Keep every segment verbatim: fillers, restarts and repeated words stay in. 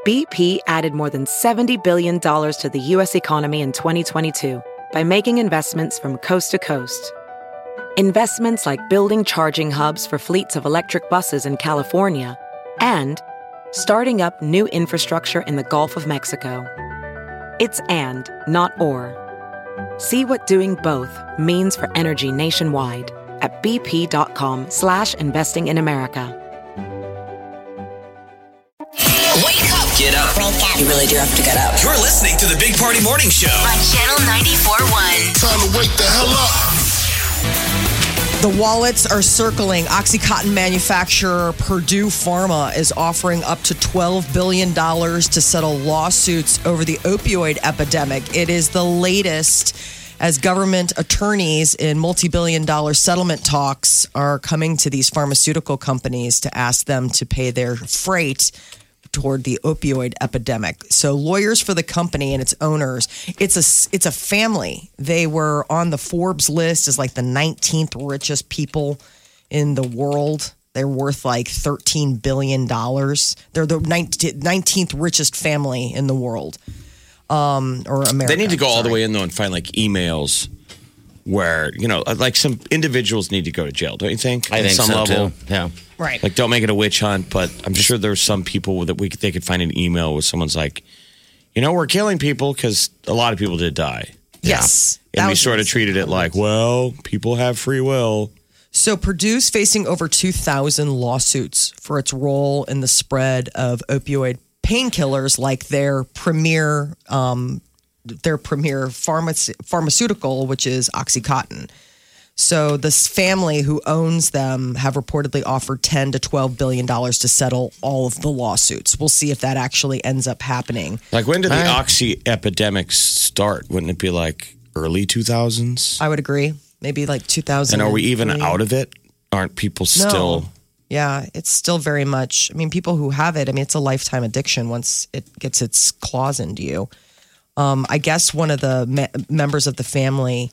B P added more than seventy billion dollars to the U S economy in twenty twenty-two by making investments from coast to coast. Investments like building charging hubs for fleets of electric buses in California and starting up new infrastructure in the Gulf of Mexico. It's and, not or. See what doing both means for energy nationwide at bp.com slash investing in America. Wake up. Get up. Wake up. You really do have to get up. You're listening to the Big Party Morning Show on Channel ninety-four point one. Time to wake the hell up. The wallets are circling. OxyContin manufacturer Purdue Pharma is offering up to twelve billion dollars to settle lawsuits over the opioid epidemic. It is the latest as government attorneys in multi-billion dollar settlement talks are coming to these pharmaceutical companies to ask them to pay their freight toward the opioid epidemic. So lawyers for the company and its owners, it's a, it's a family. They were on the Forbes list as like the nineteenth richest people in the world. They're worth like thirteen billion dollars. They're the nineteenth richest family in the world. Um, or America. They need to go sorry. all the way in, though, and find like emails where, you know, like some individuals need to go to jail, don't you think? I At think some so, level. too. Yeah. Right. Like, don't make it a witch hunt, but I'm sure there's some people that we they could find an email where someone's like, you know, we're killing people because a lot of people did die. Yes. And That we was sort of insane. treated it like, well, people have free will. So Purdue's facing over two thousand lawsuits for its role in the spread of opioid painkillers, like their premier, um, their premier pharmac- pharmaceutical, which is OxyContin. So this family who owns them have reportedly offered ten to twelve billion dollars to settle all of the lawsuits. We'll see if that actually ends up happening. Like, when did the Right. oxy epidemic start? Wouldn't it be like early two thousands? I would agree. Maybe like two thousand. And are we even out of it? Aren't people still... No. Yeah, it's still very much. I mean, people who have it, I mean, it's a lifetime addiction once it gets its claws into you. Um, I guess one of the me- members of the family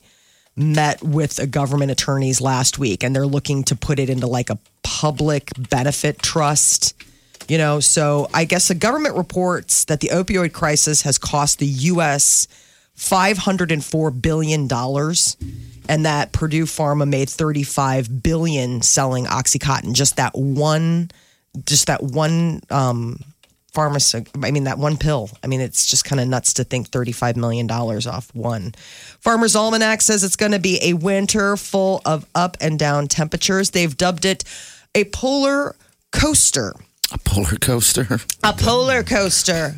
met with a government attorneys last week, and they're looking to put it into like a public benefit trust. You know, so I guess the government reports that the opioid crisis has cost the U S five hundred four billion dollars, and that Purdue Pharma made thirty-five billion dollars selling OxyContin. Just that one, just that one um, pharmacy. I mean, that one pill. I mean, it's just kind of nuts to think thirty-five million dollars off one. Farmer's Almanac says it's going to be a winter full of up and down temperatures. They've dubbed it a polar coaster. A polar coaster. A polar coaster.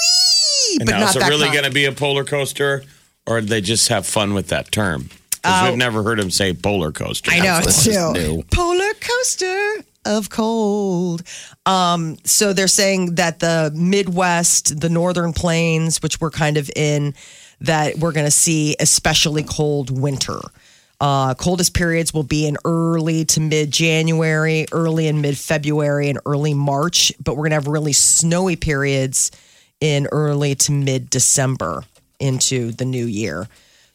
Whee! And But now, not is it that really kind. going to be a polar coaster, or did they just have fun with that term? Because Oh. we've never heard him say polar coaster. I know, That's too. new. Polar coaster of cold. Um, so they're saying that the Midwest, the Northern Plains, which we're kind of in, that we're going to see especially cold winter. Uh, coldest periods will be in early to mid-January, early and mid-February, and early March. But we're going to have really snowy periods in early to mid-December into the new year.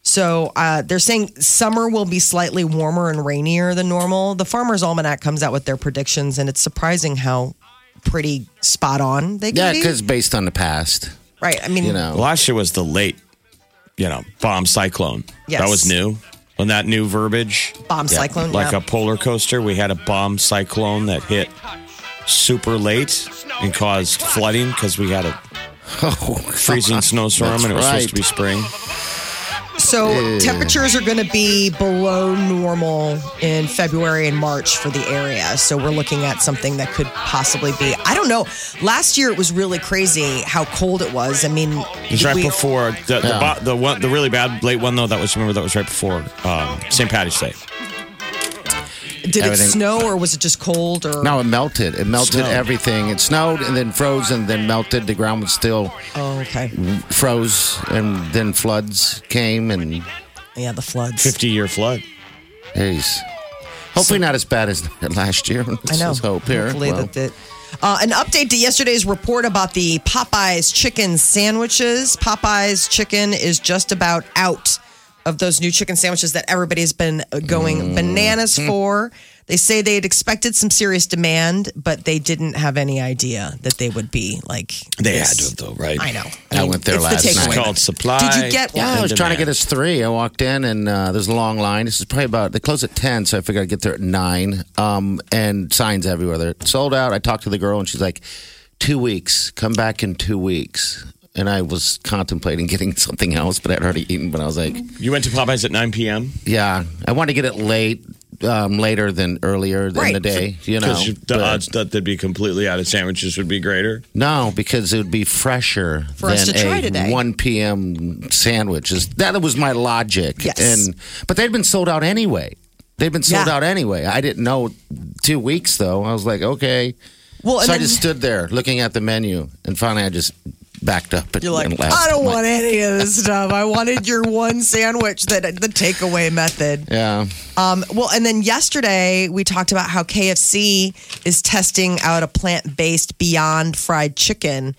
So uh, they're saying summer will be slightly warmer and rainier than normal. The Farmer's Almanac comes out with their predictions, and it's surprising how pretty spot on they can Yeah, be. because based on the past, Right. I mean, you know. Last year was the late, you know, bomb cyclone. Yes. That was new. On that new verbiage. bomb cyclone. Like yeah. a polar coaster, we had a bomb cyclone that hit super late and caused flooding because we had a Oh, freezing snowstorm That's and it was right. supposed to be spring. So temperatures are going to be below normal in February and March for the area. So we're looking at something that could possibly be, I don't know. Last year it was really crazy how cold it was. I mean, It was right we- before the the, Yeah. bo- the one the really bad late one though. That was remember that was right before um, Saint Patty's Day. did it everything- snow or was it just cold? Or No, it melted. It melted Snowed. everything. It snowed and then froze and then melted. The ground was still Oh, okay. froze, and then floods came. And Yeah, the floods. Fifty year flood. geez, hopefully not as bad as last year. I know. Let's hope here. Hopefully Well, that it. Uh, an update to yesterday's report about the Popeyes chicken sandwiches. Popeyes chicken is just about out of those new chicken sandwiches that everybody's been going bananas for. They say they had expected some serious demand, but they didn't have any idea that they would be like. They this. had to have, though, right? I know. I went there it's last the night. It's takeaway. called supply. Did you get Yeah, one? I was trying to demand. get us three. I walked in and uh, there's a long line. This is probably about, they close at ten, so I figured I'd get there at nine. Um, and signs everywhere. They're sold out. I talked to the girl and she's like, two weeks. Come back in two weeks. And I was contemplating getting something else, but I'd already eaten. But I was like, You went to Popeyes at nine p.m.? yeah, I wanted to get it late, um, later than earlier in Right. the day, you know. Because the but- odds that they'd be completely out of sandwiches would be greater. No, because it would be fresher For than us to try a today. one p.m. sandwich. Is- That was my logic. Yes. And but they'd been sold out anyway. They'd been sold Yeah. out anyway. I didn't know two weeks though. I was like, okay. Well, and so I then- just stood there looking at the menu, and finally I just backed up. And, You're like, and left. I don't I'm want like, any of this stuff. I wanted your one sandwich, that the takeaway method. Yeah. Um, well, and then yesterday we talked about how K F C is testing out a plant-based Beyond Fried Chicken,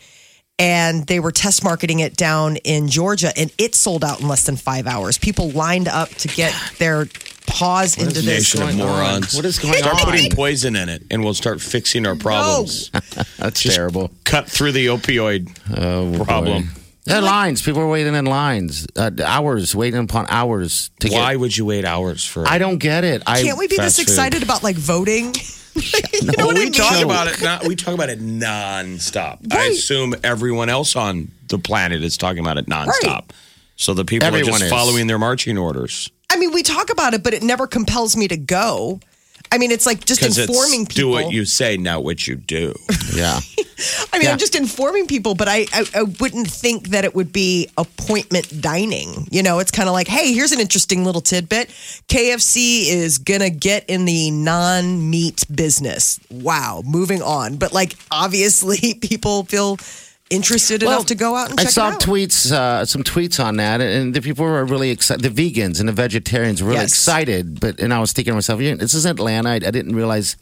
and they were test marketing it down in Georgia, and it sold out in less than five hours. People lined up to get their paws What into is this. nation of morons? What is going Start on? putting poison in it, and we'll start fixing our problems. That's Just terrible. Cut through the opioid Oh, problem. boy. Yeah, lines. People were waiting in lines, uh, hours, waiting upon hours to Why get. would you wait hours for? I don't get it. I Can't we be this fast food. excited about like voting? You know Well, what I we mean? talk about it. Not, we talk about it nonstop. I Right. assume everyone else on the planet is talking about it nonstop. Right. So the people Everyone are just is. following their marching orders I mean, we talk about it, but it never compels me to go. I mean, it's like just because informing it's do people. what you say, not what you do. Yeah. I mean, Yeah. I'm just informing people, but I, I, I wouldn't think that it would be appointment dining. You know, it's kind of like, hey, here's an interesting little tidbit. K F C is going to get in the non meat business. Wow. Moving on. But like, obviously, people feel interested enough to go out and I check saw it out. tweets, uh, some tweets on that, and the people were really excited. The vegans and the vegetarians were really Yes. excited. But and I was thinking to myself, yeah, this is Atlanta. I, I didn't realize.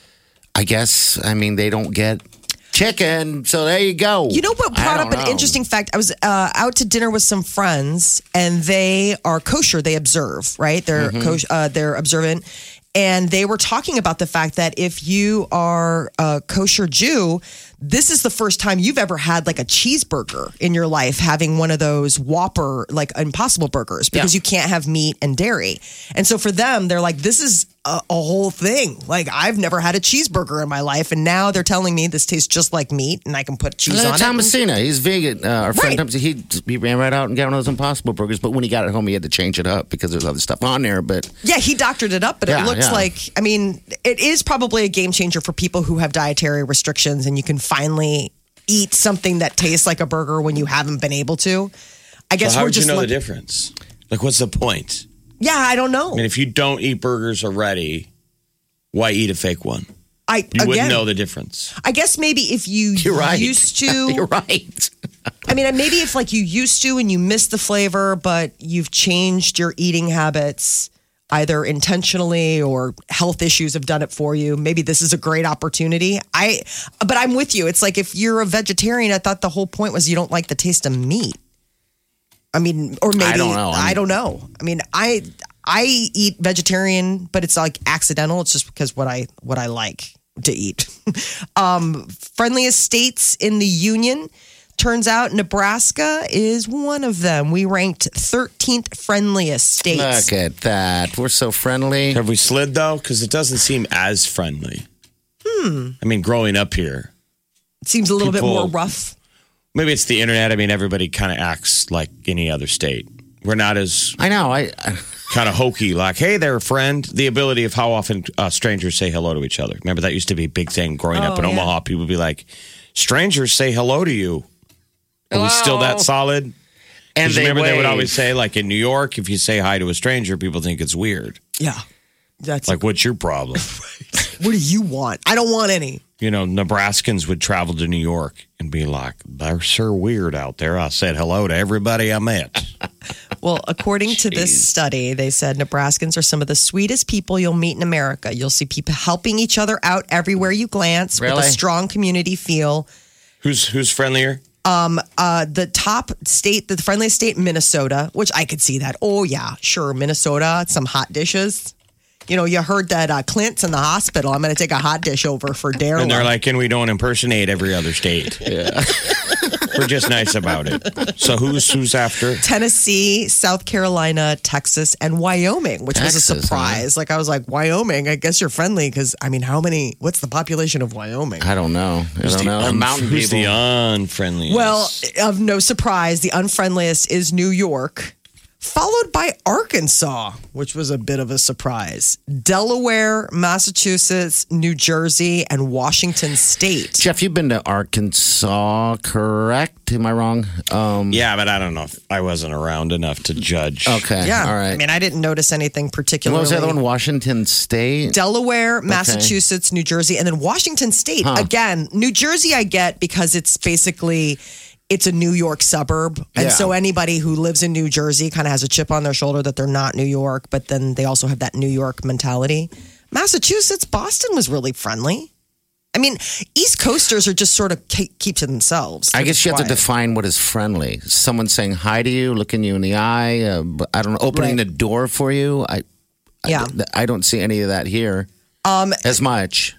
I guess I mean they don't get chicken, so there you go. You know what I brought up don't an know. interesting fact? I was uh, out to dinner with some friends, and they are kosher. They observe, right? They're Mm-hmm. kosh- uh, they're observant, and they were talking about the fact that if you are a kosher Jew, this is the first time you've ever had like a cheeseburger in your life, having one of those Whopper, like Impossible burgers, because Yeah. you can't have meat and dairy. And so for them, they're like, this is a, a whole thing. Like, I've never had a cheeseburger in my life. And now they're telling me this tastes just like meat and I can put cheese Uh, on Tom it. Messina, he's vegan. Uh, our friend Right. Tom, he he ran right out and got one of those Impossible burgers. But when he got it home, he had to change it up because there's other stuff on there. But Yeah, he doctored it up, but Yeah, it looks yeah. like, I mean, it is probably a game changer for people who have dietary restrictions, and you can finally eat something that tastes like a burger when you haven't been able to. I guess So how we're would you just know the lucky- difference? Like, what's the point? Yeah, I don't know. I mean, if you don't eat burgers already, why eat a fake one? I You again, wouldn't know the difference. I guess maybe if you you're right. used to, You're right. I mean, maybe if like you used to and you miss the flavor, but you've changed your eating habits either intentionally or health issues have done it for you. Maybe this is a great opportunity. I, but I'm with you. It's like if you're a vegetarian, I thought the whole point was you don't like the taste of meat. I mean, or maybe I don't know. I don't know. I mean, I I eat vegetarian, but it's like accidental. It's just because what I what I like to eat. um, friendliest states in the union. Turns out Nebraska is one of them. We ranked thirteenth friendliest states. Look at that. We're so friendly. Have we slid though? Because it doesn't seem as friendly. Hmm. I mean, growing up here, It seems a little bit People- more rough. maybe it's the internet. I mean, everybody kind of acts like any other state. We're not as I know. I, I kind of hokey, like, hey there, friend. The ability of how often uh, strangers say hello to each other. Remember, that used to be a big thing growing up Oh, in yeah. Omaha. People would be like, strangers say hello to you. Are we still that solid? and Because they remember, they would wave. always say, like in New York, if you say hi to a stranger, people think it's weird. Yeah. That's Like, what's your problem? what do you want? I don't want any. You know, Nebraskans would travel to New York and be like, they're so weird out there. I said hello to everybody I met. Well, according to this Jeez. study, they said Nebraskans are some of the sweetest people you'll meet in America. You'll see people helping each other out everywhere you glance with Really? a strong community feel. who's who's friendlier? Uh, the top state, the friendliest state, Minnesota, which I could see that. Oh, yeah, sure. Minnesota, some hot dishes. you know, you heard that uh, Clint's in the hospital. I'm going to take a hot dish over for Daryl. And they're like, and we don't impersonate every other state. Yeah. We're just nice about it. So who's who's after? Tennessee, South Carolina, Texas, and Wyoming, which Texas, was a surprise. huh? Like, I was like, Wyoming, I guess you're friendly because, I mean, how many, what's the population of Wyoming? I don't know. I don't know. Un- Mountain who's people. the unfriendliest? Well, of no surprise, the unfriendliest is New York, followed by Arkansas, which was a bit of a surprise. Delaware, Massachusetts, New Jersey, and Washington State. Jeff, you've been to Arkansas, correct? Am I wrong? Um, yeah, but I don't know if I wasn't around enough to judge. Okay. Yeah, All right. I mean, I didn't notice anything And particularly. what was the other one? Washington State? Delaware, Massachusetts, New Jersey, and then Washington State. Huh. Again, New Jersey I get because it's basically it's a New York suburb. And Yeah. so anybody who lives in New Jersey kind of has a chip on their shoulder that they're not New York, but then they also have that New York mentality. Massachusetts, Boston was really friendly. I mean, East Coasters are just sort of keep, keep to themselves. I They're guess just you have to quiet. define what is friendly. Someone saying hi to you, looking you in the eye. Uh, I don't know, opening Right. the door for you. I, Yeah. I, I don't see any of that here um, as much.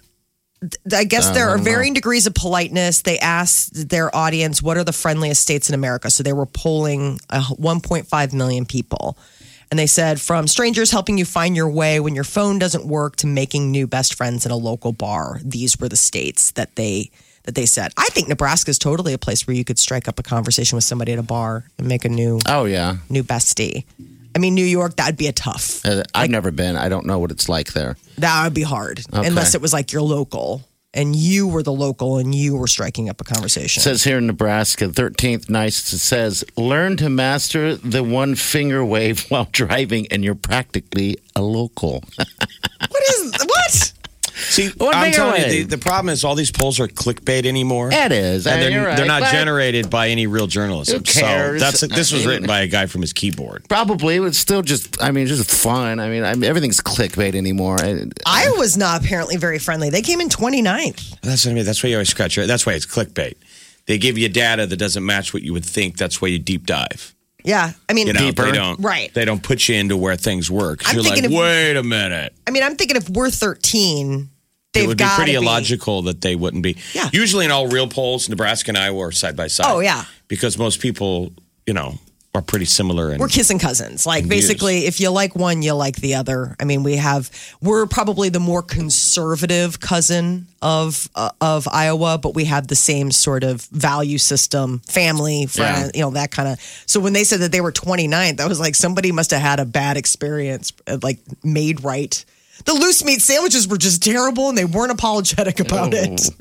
I guess there I are don't know. varying degrees of politeness. They asked their audience, what are the friendliest states in America? So they were polling uh, one point five million people. And they said, from strangers helping you find your way when your phone doesn't work to making new best friends in a local bar. These were the states that they that they said. I think Nebraska is totally a place where you could strike up a conversation with somebody at a bar and make a new Oh, yeah. new bestie. I mean, New York, that'd be a tough. Uh, I've never been. I don't know what it's like there. That would be hard. Okay. Unless it was like you're local and you were the local and you were striking up a conversation. It says here in Nebraska, thirteenth nice, it says, learn to master the one finger wave while driving, and you're practically a local. What is what? See, One I'm finger telling you, away. the, the problem is all these polls are clickbait anymore. It is. And I mean, they're, you're right, they're not but generated by any real journalism. Who cares? So that's this I was mean- written by a guy from his keyboard. Probably, but it's still just, I mean, it's just fun. I mean, I mean everything's clickbait anymore. I, Iowa's not apparently very friendly. They came in twenty-ninth. That's what I mean. That's why you always scratch your. That's why it's clickbait. They give you data that doesn't match what you would think. That's why you deep dive. Yeah. I mean, You know, Deeper. they don't. Right. They don't put you into where things work. 'Cause I'm You're like, thinking if- wait a minute. I mean, I'm thinking if we're thirteen, they've It would be got pretty to be. illogical that they wouldn't be. Yeah. Usually in all real polls, Nebraska and Iowa are side by side. Oh, yeah. Because most people, you know, are pretty similar. And We're kissing cousins. Like Views. basically, if you like one, you like the other. I mean, we have we're probably the more conservative cousin of uh, of Iowa, but we have the same sort of value system, family, friend, you know, that kind of. So when they said that they were twenty-ninth, I was like, somebody must have had a bad experience, uh, like made right. The loose meat sandwiches were just terrible, and they weren't apologetic about it.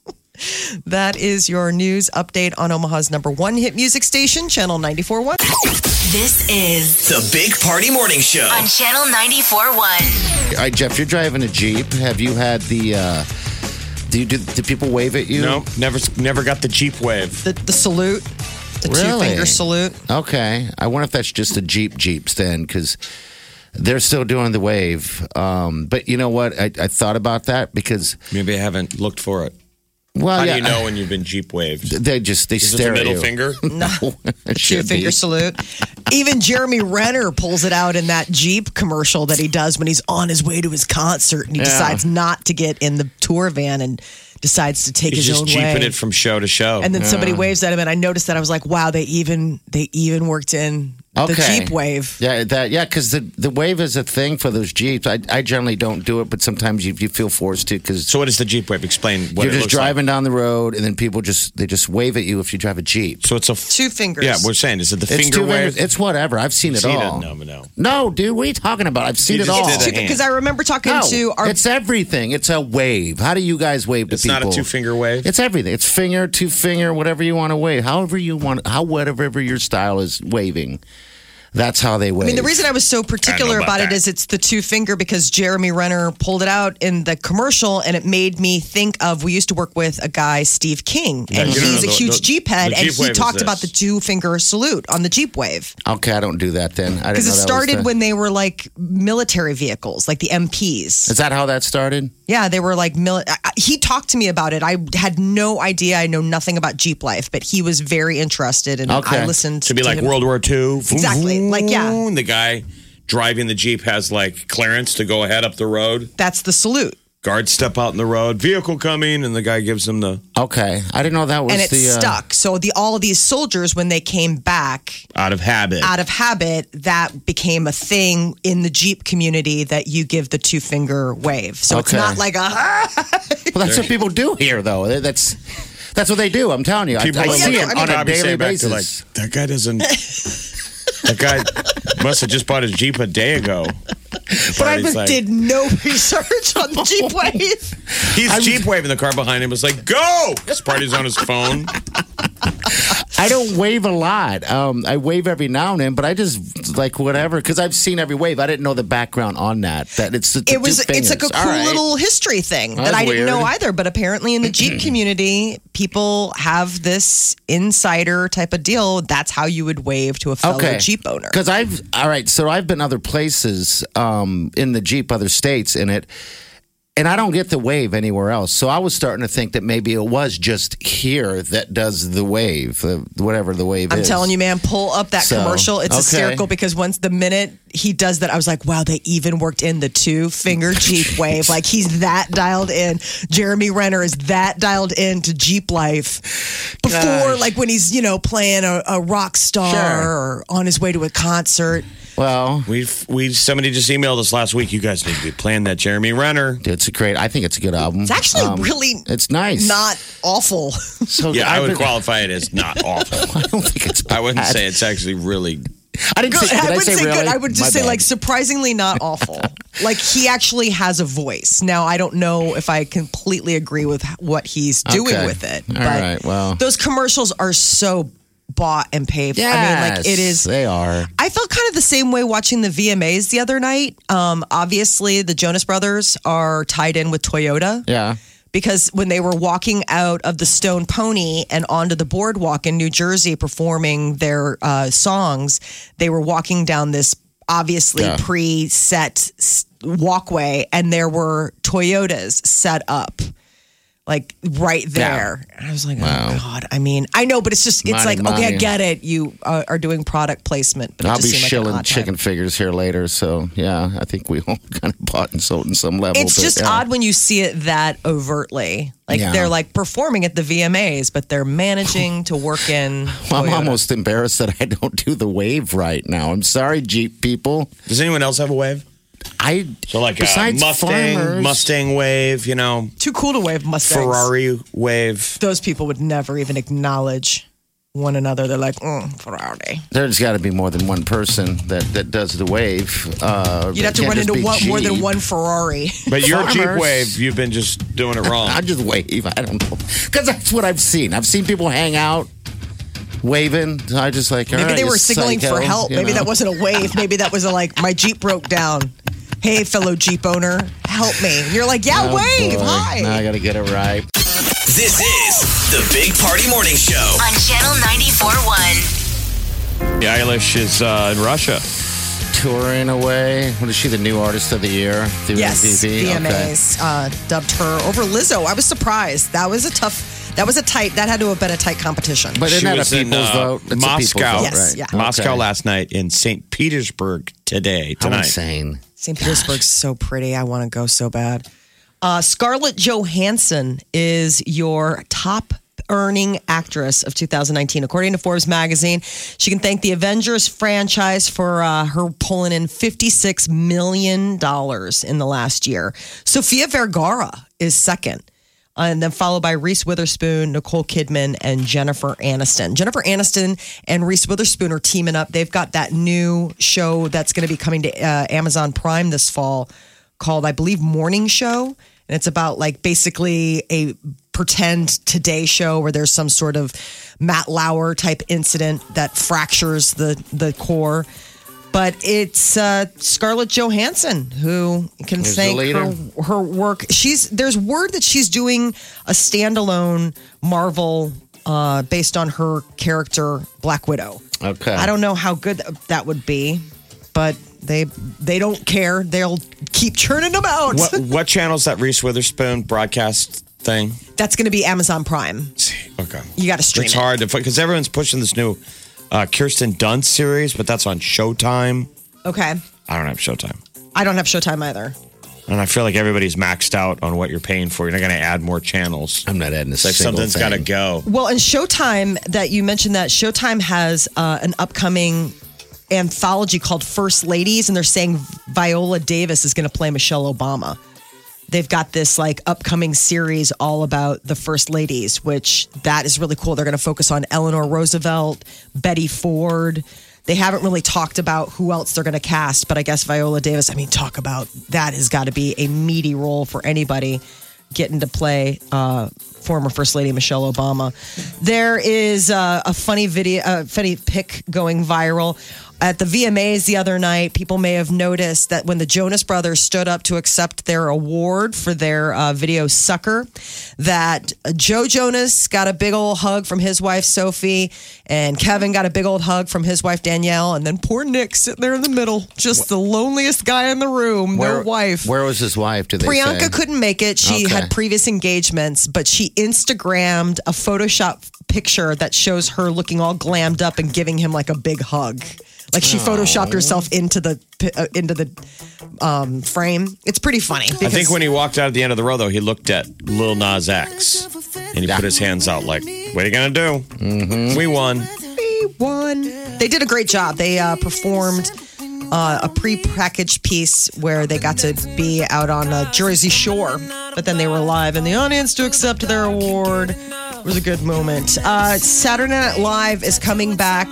That is your news update on Omaha's number one hit music station, Channel ninety-four point one. This is The Big Party Morning Show. on Channel ninety-four point one. All right, Jeff, you're driving a Jeep. Have you had the, uh, do, you, do, do people wave at you? no, never, never got the Jeep wave. The, the salute, the two Really? finger salute. Okay. I wonder if that's just the Jeep Jeeps then, because they're still doing the wave. Um, but you know what? I, I thought about that because, Maybe I haven't looked for it. well, How yeah, do you know when you've been Jeep waved? they just, they Is it the stare at middle you. finger? No. It Two should finger be. salute. Even Jeremy Renner pulls it out in that Jeep commercial that he does when he's on his way to his concert and he Yeah. decides not to get in the tour van and decides to take He's his just own jeeping way. it from show to show. And then somebody waves at him, and I noticed that I was like, "Wow, they even they even worked in the Okay. Jeep wave." Yeah, that yeah, because the, the wave is a thing for those Jeeps. I, I generally don't do it, but sometimes you, you feel forced to because so what is the Jeep wave? Explain what you're it just looks driving like. down the road, and then people just they just wave at you if you drive a Jeep. So it's a Two fingers. Yeah, we're saying is it the It's finger two wave? fingers. It's whatever. I've seen it Seen all. No, no. No, dude, what are you talking about? I've seen You it just all. did it. Because I remember talking No, to our it's everything. It's a wave. How do you guys wave to It's people? not a two finger wave. It's everything. It's finger, two finger, whatever you want to wave. However you want, how whatever your style is waving. That's how they wave. I mean, the reason I was so particular about about, it that. is it's the two finger because Jeremy Renner pulled it out in the commercial and it made me think of we used to work with a guy, Steve King, Yeah, and you don't he's know a the- huge the- Jeep head, the and Jeep he wave is talked about the this. two finger salute on the Jeep wave. Okay, I don't do that then. I Because didn't it know that was started the- when they were like military vehicles, like the M Ps. Is that how that started? Yeah, they were like mili- I- I- he talked to me about it. I had no idea. I know nothing about Jeep life, but he was very interested, and Okay. I listened To be like him. World War Two. Exactly. Like, yeah. And the guy driving the Jeep has like clearance to go ahead up the road. That's the salute. Guards step out in the road, vehicle coming, and the guy gives them the Okay, I didn't know that was and it the uh, stuck. So the all of these soldiers, when they came back out of habit. out of habit, that became a thing in the Jeep community that you give the two finger wave. So it's Okay. not like a Well, that's what people do here, though. That's that's what they do. I'm telling you. I, People I are see like- it on a probably daily say back to, basis. like, that guy doesn't. That guy must have just bought his Jeep a day ago. But I He's like- did no research on the Jeep wave. He's Jeep waving. The car behind him was like, "Go!" Sparty's on his phone. I don't wave a lot. Um, I wave every now and then, but I just like whatever because I've seen every wave. I didn't know the background on that. That it's the It was two it's like a fingers. cool All right. little history thing that That's I didn't know weird. either. But apparently in the Jeep community, people have this insider type of deal. That's how you would wave to a fellow Okay. Jeep owner. Because I've all right, so I've been other places um, in the Jeep, other states in it, and I don't get the wave anywhere else. So I was starting to think that maybe it was just here that does the wave, uh, whatever the wave I'm is. telling you, man, pull up that So, commercial. It's okay. hysterical because once the minute he does that, I was like, wow, they even worked in the two finger Jeep wave. Like he's that dialed in. Jeremy Renner is that dialed in to Jeep life before, Gosh. like when he's, you know, playing a, a rock star Sure. or on his way to a concert. Well, We've we somebody just emailed us last week. You guys need to be playing that Jeremy Renner. it's a great. I think it's a good album. It's actually Um, really It's nice. not awful. So Yeah, I I've would been- qualify it as not awful. I don't think it's. I wouldn't bad. say it's actually really. I didn't Good. say. Did I I, would say, say really? good. I would just My say bad. like surprisingly not awful. Like he actually has a voice. Now I don't know if I completely agree with what he's doing Okay. with it. All but right, well. those commercials are so bought and paid. Yes, I mean, like it is. They are. I felt kind of the same way watching the V M As the other night. Um, obviously, the Jonas Brothers are tied in with Toyota. Yeah. Because when they were walking out of the Stone Pony and onto the boardwalk in New Jersey performing their uh, songs, they were walking down this obviously Yeah. pre-set s- walkway, and there were Toyotas set up. Like right there. And I was like, Wow. oh God. I mean, I know, but it's just, it's Money, like, okay, I money. get it. You uh, are doing product placement, but it I'll just be seemed like an shilling odd time. chicken figures here later. So, yeah, I think we all kind of bought and sold in some level. It's but, just yeah. odd when you see it that overtly. Like Yeah. they're like performing at the V M As, but they're managing to work in. Well, I'm Toyota. almost embarrassed that I don't do the wave right now. I'm sorry, Jeep people. Does anyone else have a wave? I So like a besides Mustang, farmers, Mustang wave, you know, too cool to wave Mustangs. Ferrari wave. Those people would never even acknowledge one another. They're like, mm, Ferrari. There's got to be more than one person that, that does the wave. Uh, You'd have it to can't run just into be one, more than Jeep. one Ferrari. But your Jeep Farmers. wave, you've been just doing it wrong. I just wave. I don't know. Because that's what I've seen. I've seen people hang out waving. I just like, all Maybe right, they you were signaling psycho, for help. you Maybe know? that wasn't a wave. Maybe that was a like, my Jeep broke down. Hey, fellow Jeep owner, help me. And you're like, yeah, Oh, wave. boy. Hi. Now I got to get it right. This is the Big Party Morning Show. On Channel ninety-four point one. Yeah, Eilish is uh, in Russia. Touring away. What is she, the new artist of the year? Through Yes, M T V? V M Okay. As uh, dubbed her over Lizzo. I was surprised. That was a tough. That was a tight. That had to have been a tight competition. But She isn't that a was in, people's uh, vote? It's a people's Moscow. vote, Yes, right? yeah. Okay. Moscow last night in Saint Petersburg today, How tonight. insane. Saint Petersburg's so pretty. I want to go so bad. Uh, Scarlett Johansson is your top earning actress of two thousand nineteen. According to Forbes magazine, she can thank the Avengers franchise for uh, her pulling in fifty-six million dollars in the last year. Sofia Vergara is second. Uh, and then followed by Reese Witherspoon, Nicole Kidman, and Jennifer Aniston. Jennifer Aniston and Reese Witherspoon are teaming up. They've got that new show that's going to be coming to uh, Amazon Prime this fall called, I believe, Morning Show. And it's about like basically a pretend Today show where there's some sort of Matt Lauer type incident that fractures the, the core. But it's uh, Scarlett Johansson who can Who's the thank leader? her her work. She's there's word that she's doing a standalone Marvel uh, based on her character Black Widow. Okay. I don't know how good that would be, but they they don't care. They'll keep churning them out. What what channel's that Reese Witherspoon broadcast thing? That's going to be Amazon Prime. Okay. You got to stream It's it. hard to because everyone's pushing this new uh, Kirsten Dunst series, but that's on Showtime. Okay. I don't have Showtime. I don't have Showtime either. And I feel like everybody's maxed out on what you're paying for. You're not going to add more channels. I'm not adding a It's like single something's got to thing. go. Well, and Showtime, that you mentioned that, Showtime has uh, an upcoming anthology called First Ladies, and they're saying Viola Davis is going to play Michelle Obama. They've got this like upcoming series all about the First Ladies, which that is really cool. They're going to focus on Eleanor Roosevelt, Betty Ford. They haven't really talked about who else they're going to cast, but I guess Viola Davis, I mean, talk about that has got to be a meaty role for anybody getting to play uh, former First Lady Michelle Obama. There is uh, a funny video, a funny pic going viral. At the V M As the other night, people may have noticed that when the Jonas Brothers stood up to accept their award for their uh, video Sucker, that Joe Jonas got a big old hug from his wife Sophie, and Kevin got a big old hug from his wife Danielle, and then poor Nick sitting there in the middle, just the loneliest guy in the room, no wife. Where was his wife? Did they Priyanka say? couldn't make it. She Okay. had previous engagements, but she Instagrammed a Photoshop picture that shows her looking all glammed up and giving him like a big hug. Like she photoshopped herself into the uh, into the um, frame. It's pretty funny. I think when he walked out at the end of the row, though, he looked at Lil Nas X and he put his hands out like, what are you going to do? Mm-hmm. We won. we won. They did a great job. They uh, performed uh, a pre-packaged piece where they got to be out on uh, Jersey Shore, but then they were live in the audience to accept their award. It was a good moment. Uh, Saturday Night Live is coming back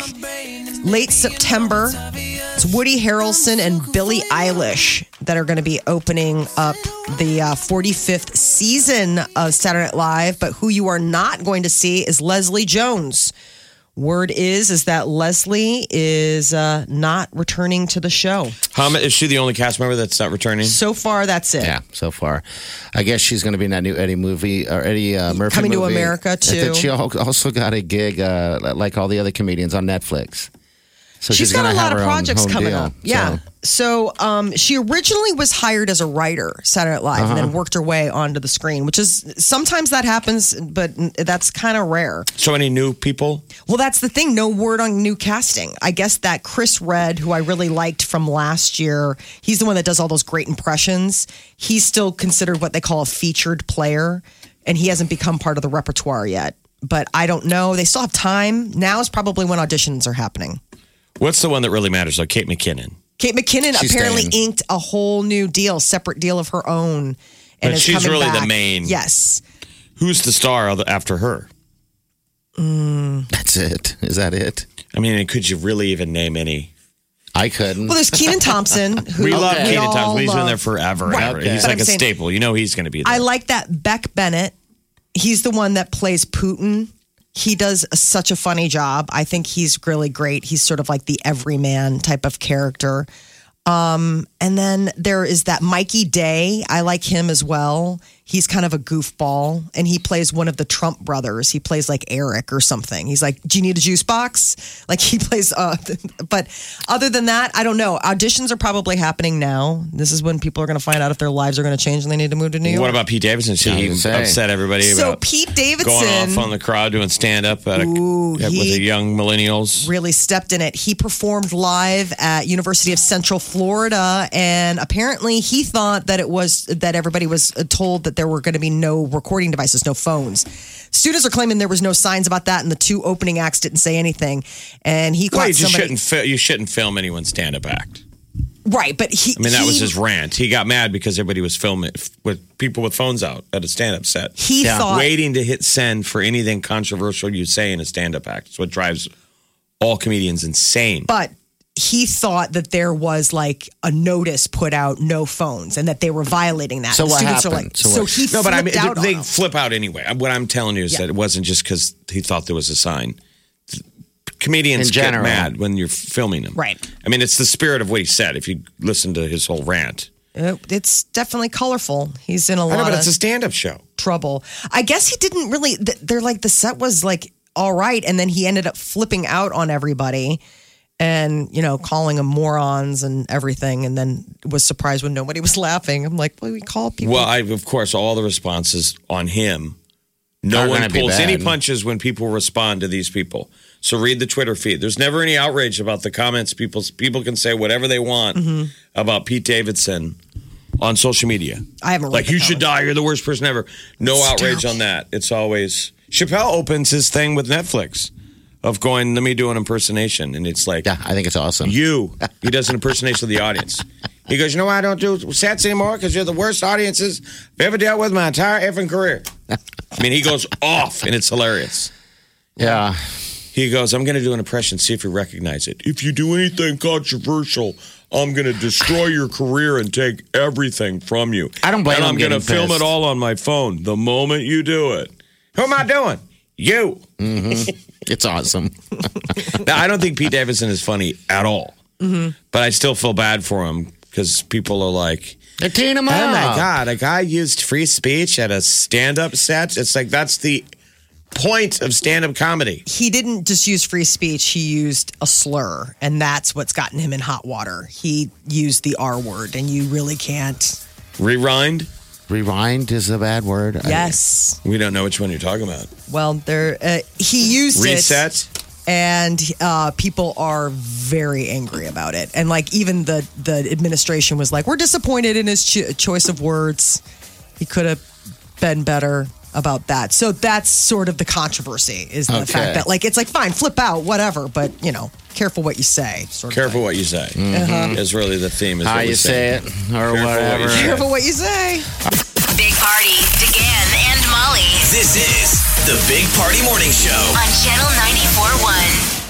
late September. It's Woody Harrelson and Billie Eilish that are going to be opening up the uh, forty-fifth season of Saturday Night Live. But who you are not going to see is Leslie Jones. Word is is that Leslie is uh, not returning to the show. How ma- is she the only cast member that's not returning? So far, that's it. Yeah, so far. I guess she's going to be in that new Eddie movie, or Eddie uh, Murphy Coming to movie. America, I too. think she al- also got a gig, uh, like all the other comedians, on Netflix. So She's she's, got going a to lot have of her own projects home coming deal. up. Yeah. So- So um, she originally was hired as a writer, Saturday Night Live, and then worked her way onto the screen, which is sometimes that happens, but that's kind of rare. So any new people? Well, that's the thing. No word on new casting. I guess that Chris Redd, who I really liked from last year, he's the one that does all those great impressions. He's still considered what they call a featured player, and he hasn't become part of the repertoire yet. But I don't know. They still have time. Now is probably when auditions are happening. What's the one that really matters, though? Kate McKinnon. Kate McKinnon She's apparently staying. inked a whole new deal, separate deal of her own. And But is she's coming really the back. main- Yes. Who's the star other- after her? That's it. Is that it? I mean, could you really even name any? I couldn't. Well, there's Keenan Thompson. Who We love Okay. Keenan all Thompson. He's been love. there forever. and Right. ever. Okay. He's But like I'm a saying- staple. You know he's going to be there. I like that Beck Bennett. He's the one that plays Putin. He does such a funny job. I think he's really great. He's sort of like the everyman type of character. Um, and then there is that Mikey Day. I like him as well. He's kind of a goofball, and he plays one of the Trump brothers. He plays like Eric or something. He's like, "Do you need a juice box?" Like he plays. Uh, but other than that, I don't know. Auditions are probably happening now. This is when people are going to find out if their lives are going to change and they need to move to New York. What about Pete Davidson? See, I was he gonna say. upset everybody So about Pete Davidson going off on the crowd doing stand up at a, Ooh, at- with he- the young millennials. really stepped in it. He performed live at University of Central Florida, and apparently he thought that it was that everybody was told that there were going to be no recording devices, no phones. Students are claiming there was no signs about that, and the two opening acts didn't say anything. And he Well, caught you just somebody shouldn't fi- you shouldn't film anyone's stand up act. right, but he. I mean, that he, was his rant. He got mad because everybody was filming f- with people with phones out at a stand up set. He Yeah. thought Waiting to hit send for anything controversial you say in a stand up act. It's what drives all comedians insane. but he thought that there was like a notice put out, no phones, and that they were violating that. So The what students Are happened? like, So so what- he No, but I mean, flipped out they on them. flip out anyway. What I'm telling you is Yeah. that it wasn't just because he thought there was a sign. Comedians In get general. mad when you're filming them. Right. I mean, it's the spirit of what he said. If you listen to his whole rant, It- It's definitely colorful. He's in a I lot know, but of it's a stand-up show. trouble. I guess he didn't really. th- They're like the set was like all right, and then he ended up flipping out on everybody, and you know, calling them morons and everything, and then was surprised when nobody was laughing. I'm like, well, we call people. Well, I, of course, all the responses on him No Are one gonna be pulls bad. any punches when people respond to these people. So read the Twitter feed. There's never any outrage about the comments. People people can say whatever they want Mm-hmm. about Pete Davidson on social media. I haven't read Like, the you should comments. die. You're the worst person ever. No It's outrage terrible. on that. It's always Chappelle opens his thing with Netflix of going, let me do an impersonation. And it's like, Yeah, I think it's awesome. you. He does an impersonation of the audience. He goes, you know why I don't do sets anymore? Because you're the worst audiences I've ever dealt with my entire effing career. I mean, he goes off, and it's hilarious. Yeah. He goes, I'm going to do an impression, see if you recognize it. If you do anything controversial, I'm going to destroy your career and take everything from you. I don't blame And him I'm going to getting film pissed. it all on my phone the moment you do it. Who am I doing? You. It's awesome. Now, I don't think Pete Davidson is funny at all. Mm-hmm. But I still feel bad for him because people are like, They're teeing him oh up. my God, a guy used free speech at a stand-up set. It's like, that's the point of stand-up comedy. He didn't just use free speech, he used a slur, and that's what's gotten him in hot water. He used the R word, and you really can't. Rewind? Rewind is a bad word. Yes. We don't know which one you're talking about. Well, there uh, he used Reset? it, and uh, people are very angry about it. And like even the the administration was like, "We're disappointed in his cho- choice of words. He could have been better about that." So that's sort of the controversy is the Okay. fact that like it's like fine, flip out, whatever, but you know, careful what you say. Sort of Careful thing. what you say. Uh-huh. Is really the theme. Is How what you we're say saying. it or Careful what whatever. you say. Careful what you say. Big Party, DeGan and Molly This is the Big Party Morning Show. on Channel ninety-four point one.